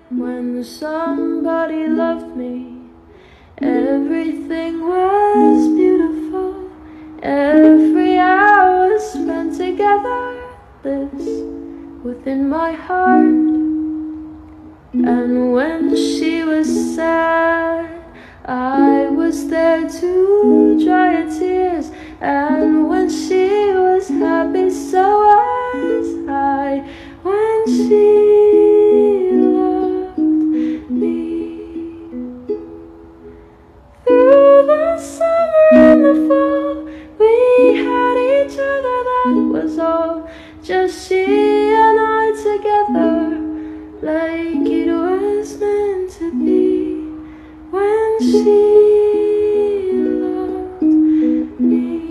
When somebody loved me, everything was beautiful. Every hour spent together lives within my heart. And when she was sad, I was there to dry her tears. And when she was happy, so was I. When she loved me, through the summer and the fall, we had each other, that was all. Just she and I together, like it was meant to be. When she loved me,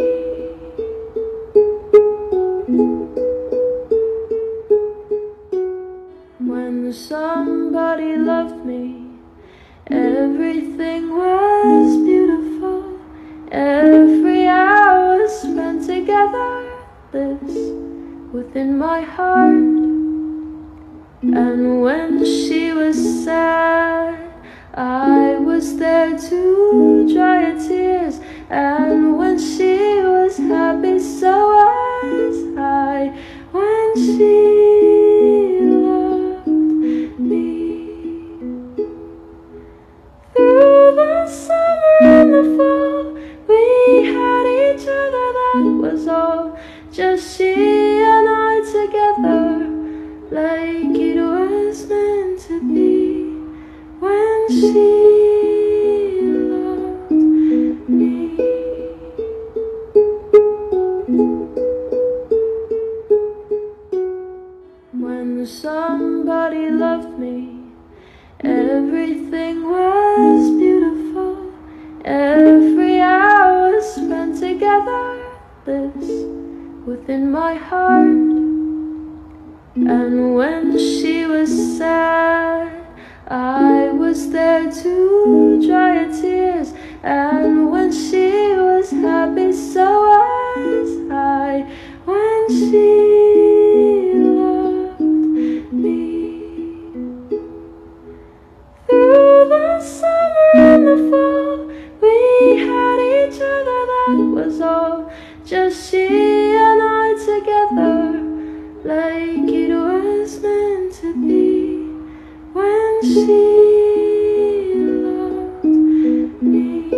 when somebody loved me, everything was beautiful. Every hour spent together lives within my heart. And when she was sad, I was there to dry her tears. And when she was happy, so was I. When she loved me, through the summer and the fall, we had each other, that was all. Just she and I together, like it was meant to be. When she loved me, when somebody loved me, everything was beautiful. Every hour spent together lives within my heart. And when she was sad, I was there to dry her tears. And when she was happy, so was I. When she loved me, through the summer and the fall, we had each other, that was all. Just she and I together, like it was meant to be. When she loved me,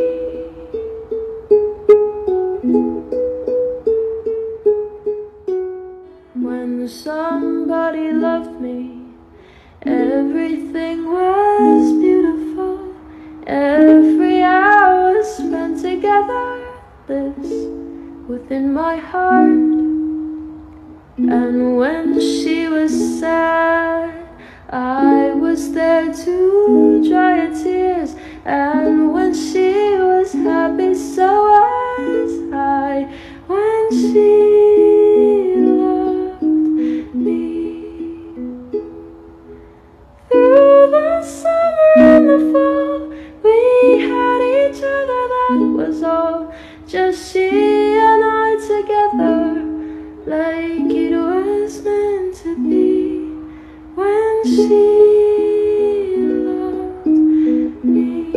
when somebody loved me, everything was beautiful. Every hour spent together lives within my heart. And when she was sad, I was there to dry her tears. And when she was happy, so was I. When she loved me, through the summer and the fall, we had each other, that was all. Just she and I together, like it was meant to be. When she loved me,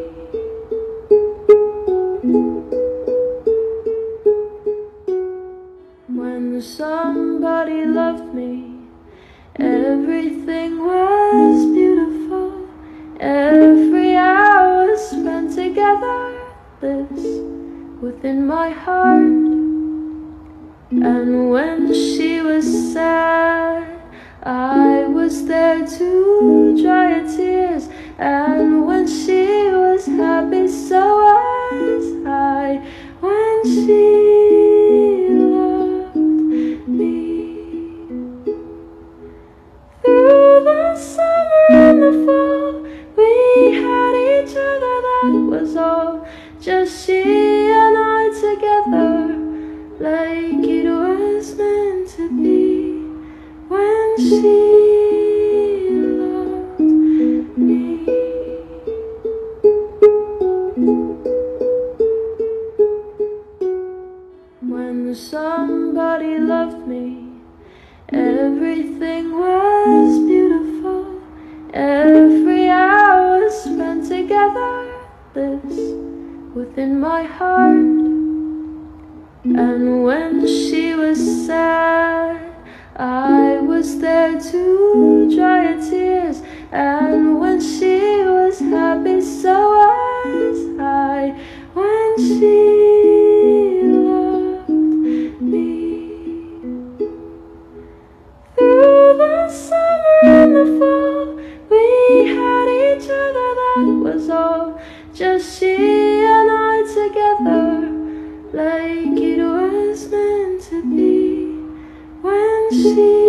when somebody loved me, everything was beautiful. Every hour spent together lives within my heart. And when she was sad, I was there to dry her tears. And when she was happy, so was I. When she loved me, through the summer and the fall, we had each other, that was all. Just she and I together, like it was meant to be. When she loved me, Every hour spent together lives within my heart. And when she was sad, I was there to dry her tears. And when she was happy, so was I. When she loved me. Through the summer and the fall, we had each other, that was all. Just she and I together, like it was meant to be. When she